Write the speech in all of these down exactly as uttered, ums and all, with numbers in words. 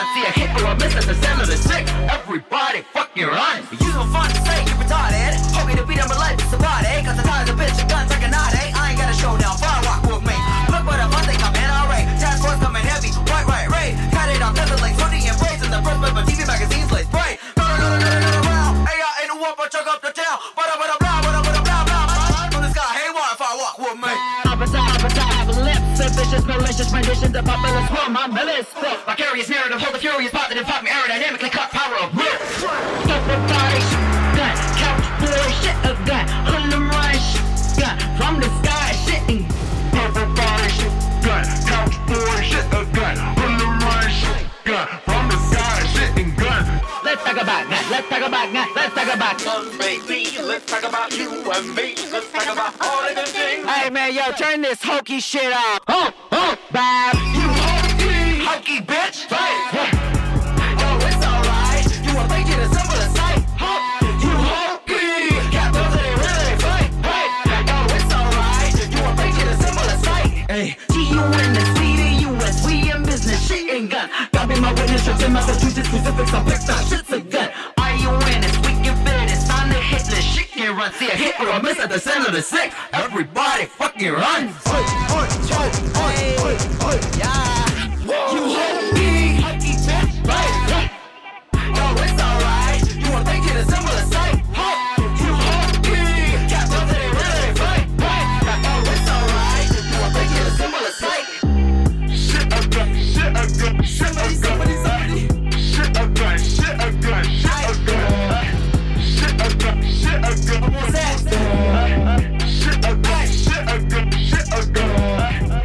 run. See a hit or a miss at the center of the sick. Everybody fucking run. You so fun to say, you retarded. Hoping to beat them, but life is a party. Cause the tire's a bitch, a gun, take a knot, eh? I ain't got a showdown, fire rock with me. Look what I'm on, they come in, alright. Task force coming heavy, right, right, right. Got it on tether like twenty and braids. In the first paper T V magazines, like spray. No, no, no, no, no, no, no, no. Hey, I ain't the one, but chuck up the town. Bada, bada, blah, bada, bada, blah, blah. From the sky, hey, why if I walk with me? Opposite, opposite, have a lip. Vicious, malicious, renditions of populist form. I'm Millis. Vicarious narrative, hold the furious, positive, pop me aerodynamically cut power of will. Everybody, gun, couch boy, shit a gun, Harlem rush, gun, from the sky, shitting. Everybody, gun, couch boy, shit a gun, Harlem rush, gun, from the sky, shitting gun. Let's talk about that, let's talk about that, let's talk about us, baby. Let's talk about you and me. Let's talk about all of the things. Hey man, yo, turn this hokey shit off. Oh, oh, bad. You hokey, hokey bitch. Right. Yo, it's alright. You a fake it a simple sight. You hokey. Got those that ain't really fight. Right. Yo, it's alright. You a fake it a simple sight. Hey, G U N the C the U S. We in business. Shit ain't gun. Got me my witness. Trips in Massachusetts. Specifics. I'm picked up. Shit's a gun. I U N is we can fit it. It's on the hit list. Shit can run. See a hit or a miss at the center of the sick. Everybody fucking run. Oi, oi, oi, oi, oi, oi, yeah. You hokey, hokey bitch, right? Yo, it's alright. You wanna think it a similar sight? You hokey, got those that ain't really fight, right? Yo, it's alright. You wanna think it a similar sight? Shit a gun, shit a gun, shit a gun, shit a gun, shit a gun, shit a gun, shit a gun, shit a gun. What's that? Shit a gun, shit a gun, shit a gun.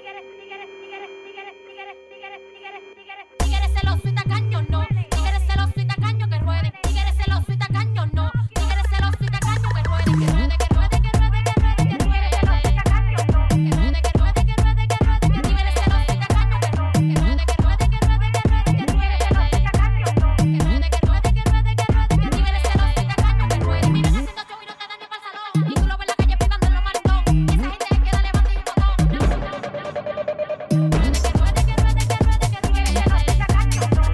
Tigres celoso y tacaño no, tigres celoso y tacaño que ruede, tigres celoso y tacaño no, tigres celoso y tacaño que ruede, que ruede, que ruede, que ruede, que ruede, que ruede, que ruede, que ruede, que ruede, que ruede, que ruede, que tigres celoso y tacaño que ruede, que ruede, que ruede, que ruede, que ruede, que ruede, que ruede, que ruede, que ruede, que ruede, que tigres celoso y tacaño que ruede. Mira esa situación y no te da ni pa'l salón, y tú lo ves en la calle privando en los maratón, esa gente es que da levanta y un botón. Que ruede, que ruede, que ruede, que ruede, que ruede, que ruede, que ruede, que ruede, que ruede, que ruede, que ruede, que ruede,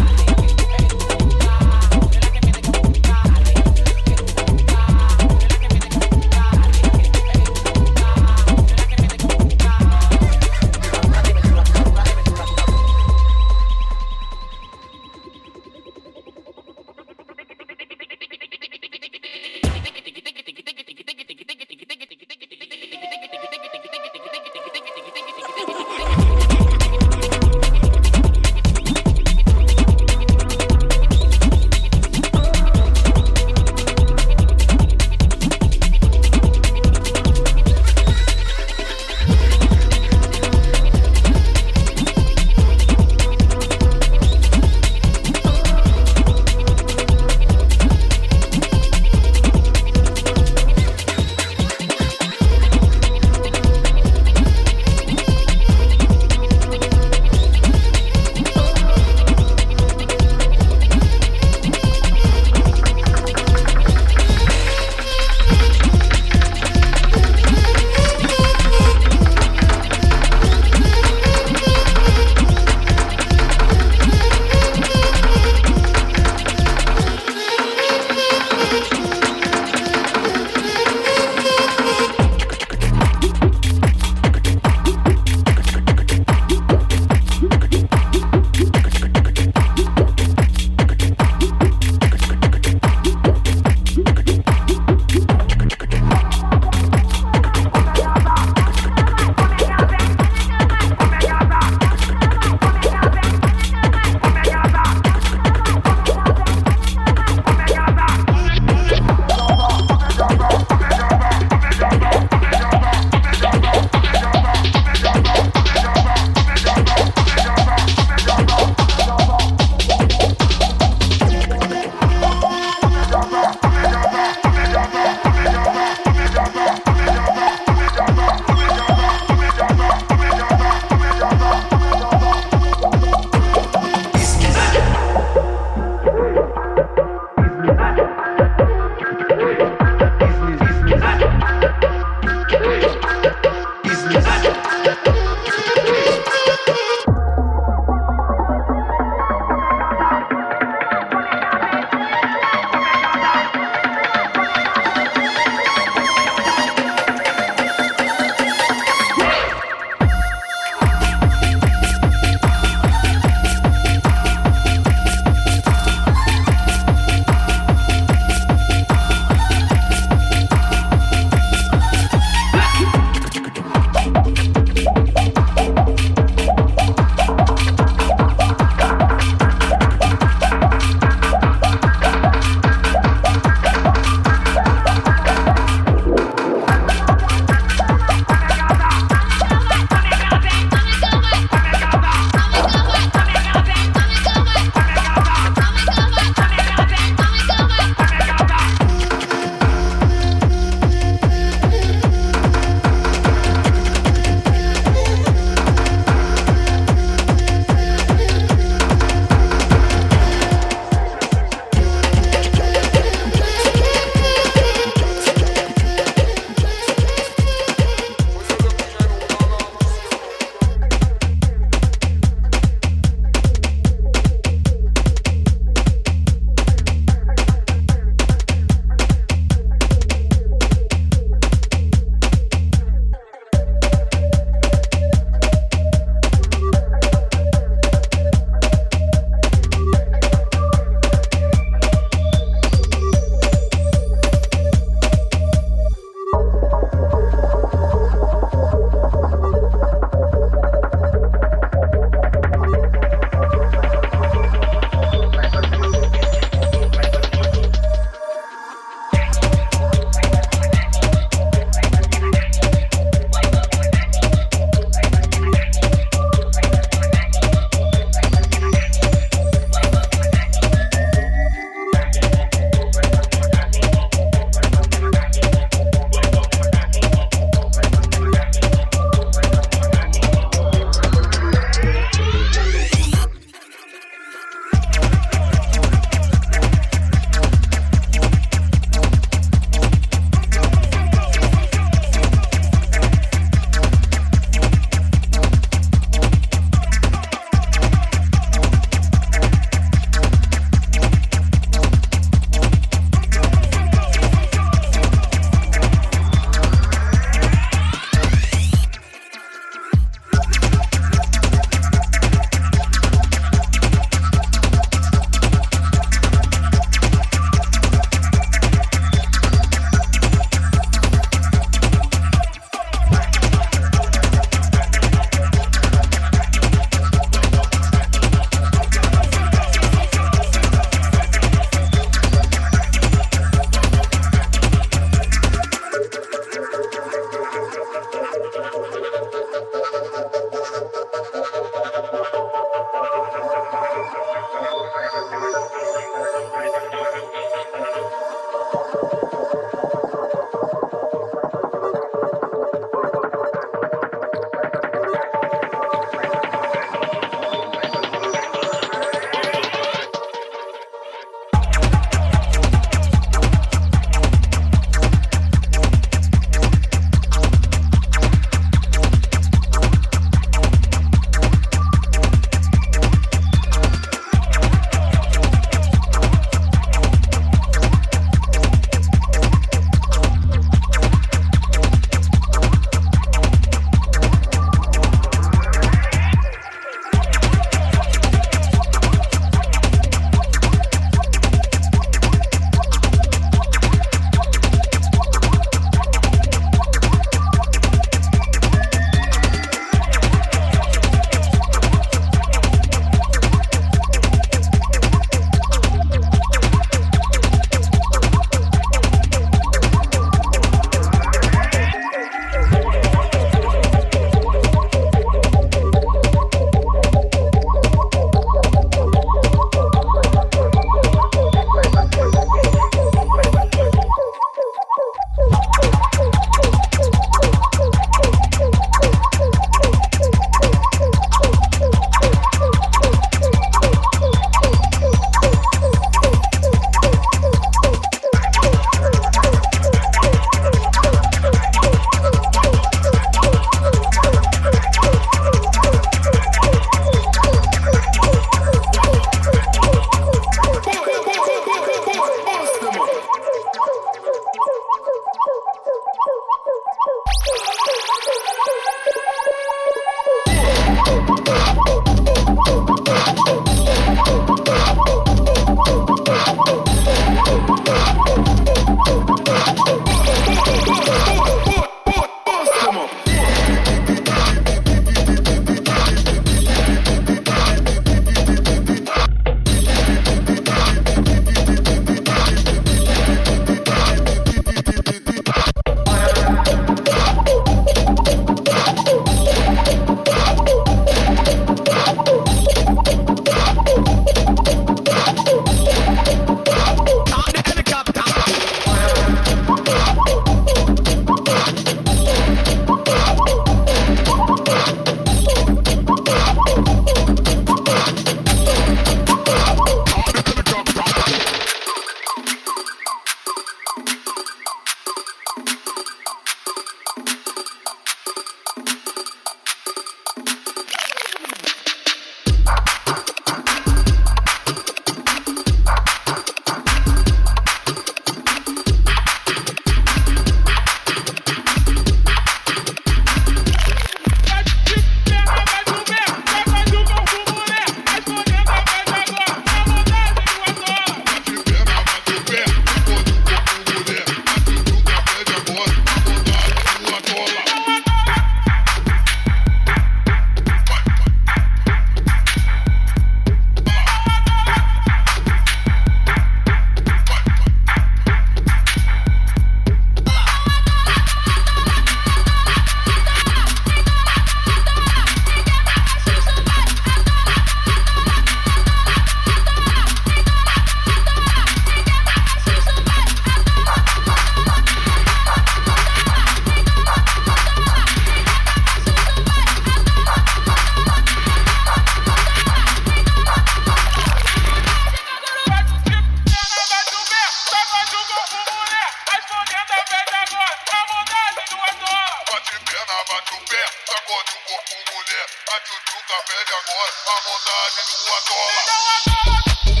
com mulher, a tchutchuca pede agora, a vontade do atola.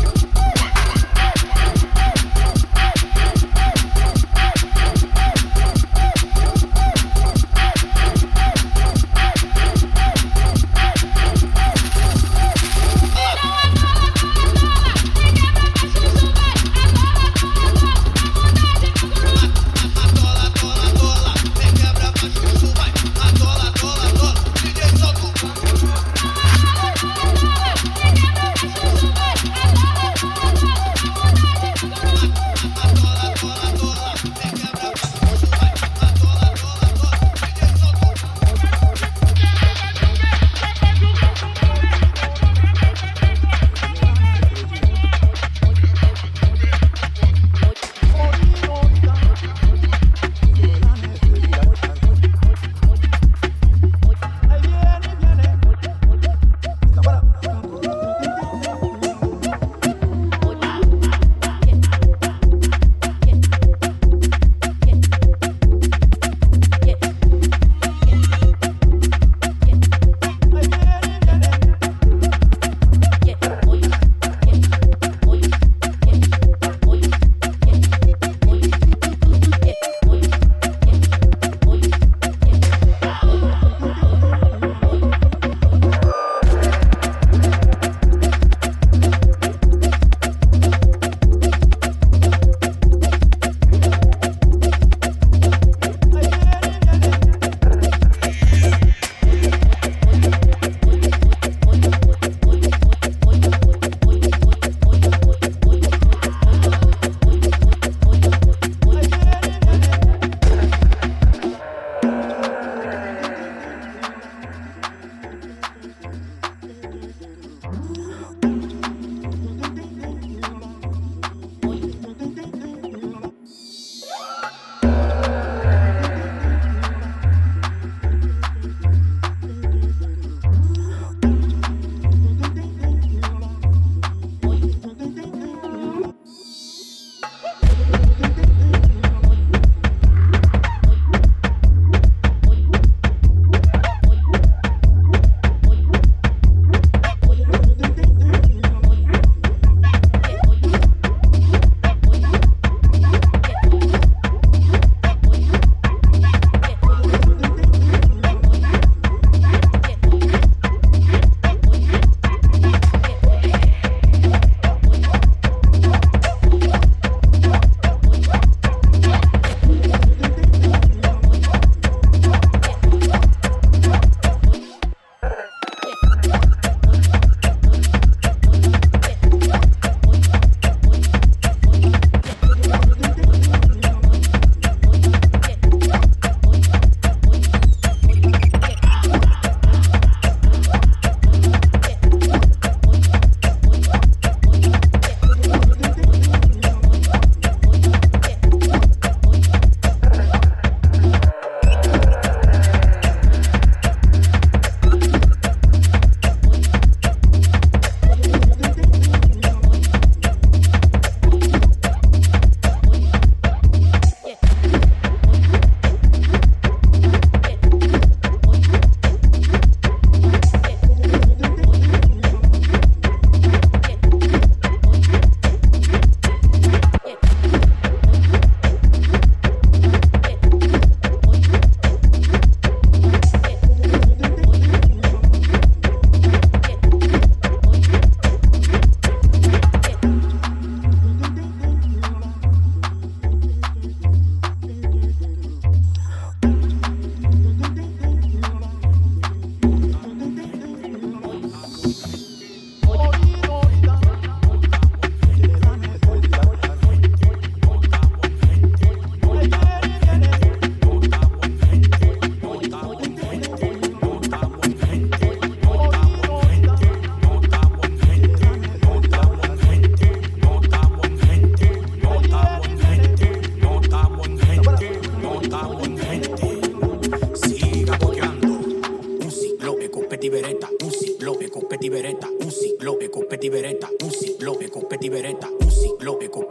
Bye.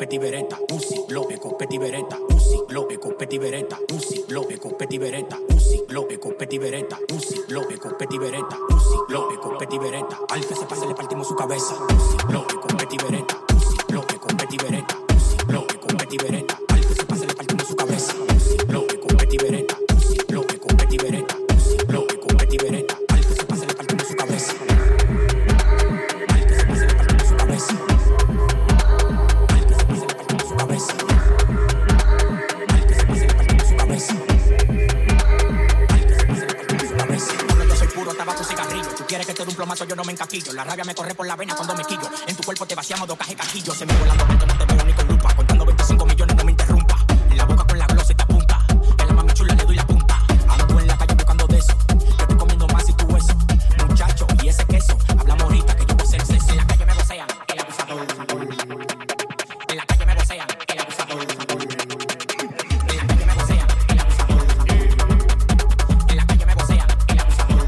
Petit Beretta, un ciclo, eco Petit Beretta, un ciclo, eco Petit Beretta, un ciclo, eco Petit Beretta, un ciclo, eco Petit Beretta, un ciclo, eco Petit Beretta, un ciclo, eco Petit Beretta, al que se pase le partimos su cabeza, un ciclo, eco Petit Beretta, un ciclo, eco Petit Beretta, un ciclo, eco Petit Beretta, al que se pase le partimos su cabeza, un ciclo, eco Petit Beretta, un ciclo, eco Petit Beretta, un ciclo, eco Petit Beretta, al que se pase le partimos su cabeza, al que se pase le partimos su cabeza. Quieres que te dé un plomazo, yo no me encaquillo. La rabia me corre por la vena cuando me quillo. En tu cuerpo te vaciamos dos cajas cajillo. Se me volando porque no te veo ni con lupa. Contando veinticinco millones, no me interrumpa. En la boca con la glosa y te apunta. En la mami chula le doy la punta. Ando en la calle buscando de eso. Yo estoy comiendo más y tú eso. Muchacho, y ese queso. Hablamos ahorita que yo voy a hacer sexo. En la calle me vocean, el abusador. En la calle me vocean, el abusador. En la calle me vocean, el abusador. En la calle me vocean, el abusador.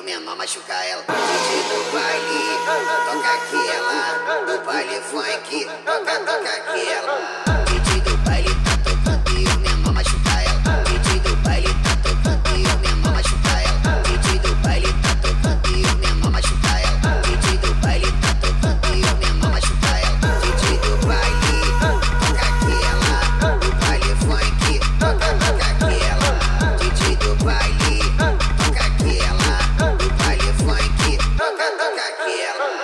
menor machuca ela. D J do baile, toca aquela. Do baile funk, toca, toca aquela. D J do baile tá tocando e o menor machuca ela. D J do baile tá tocando e o menor machuca ela. D J do baile tá tocando e o menor machuca ela. D J do baile tá tocando e o menor machuca ela. D J do baile, toca aquela. Do baile funk, toca, toca aquela. D J do baile, toca aquela. Do baile funk, toca, toca aquela.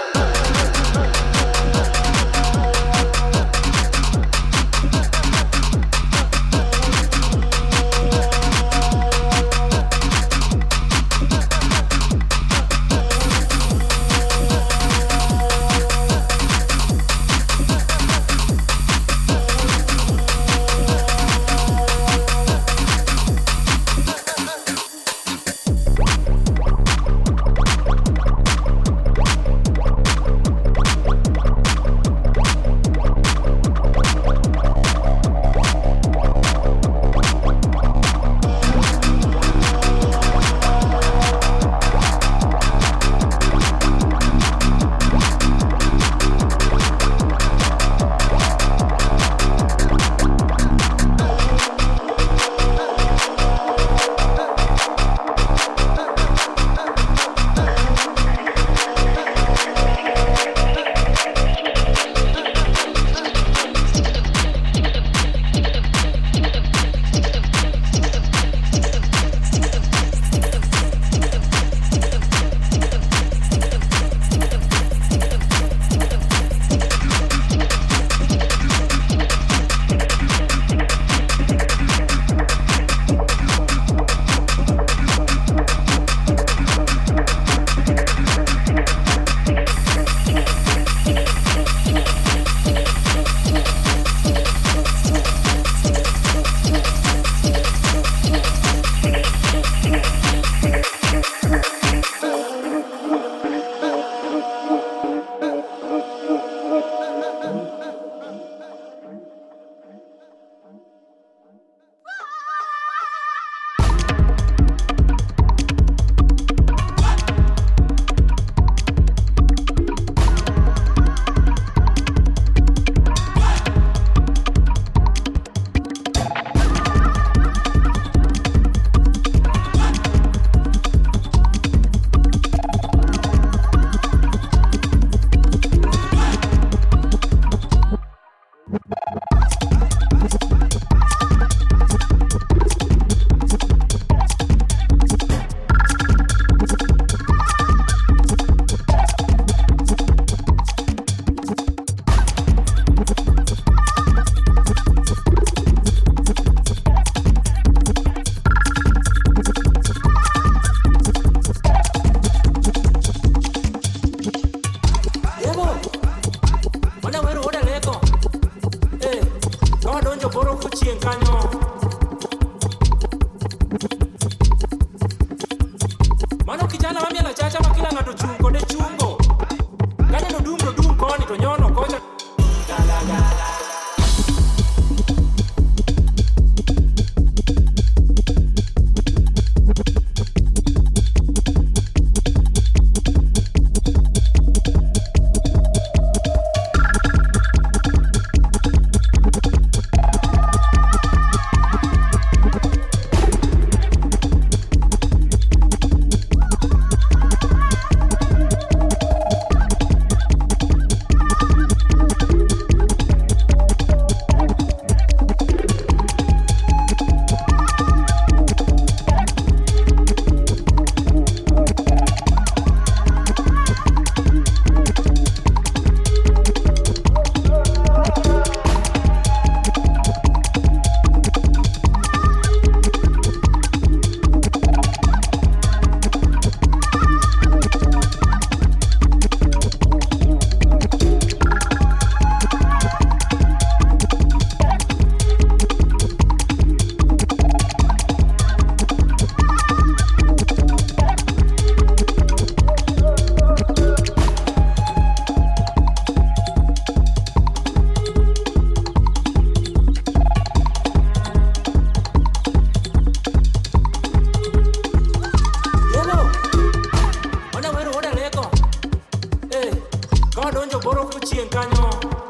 chien caño.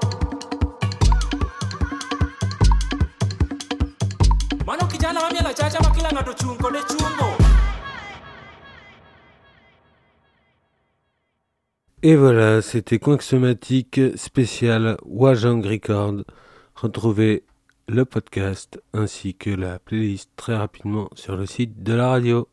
Mano kijana mami la chacha makila ngato chungo de chungo. Et voilà, c'était Coinxomatique spécial Wajang Record. Retrouvez le podcast ainsi que la playlist très rapidement sur le site de la radio.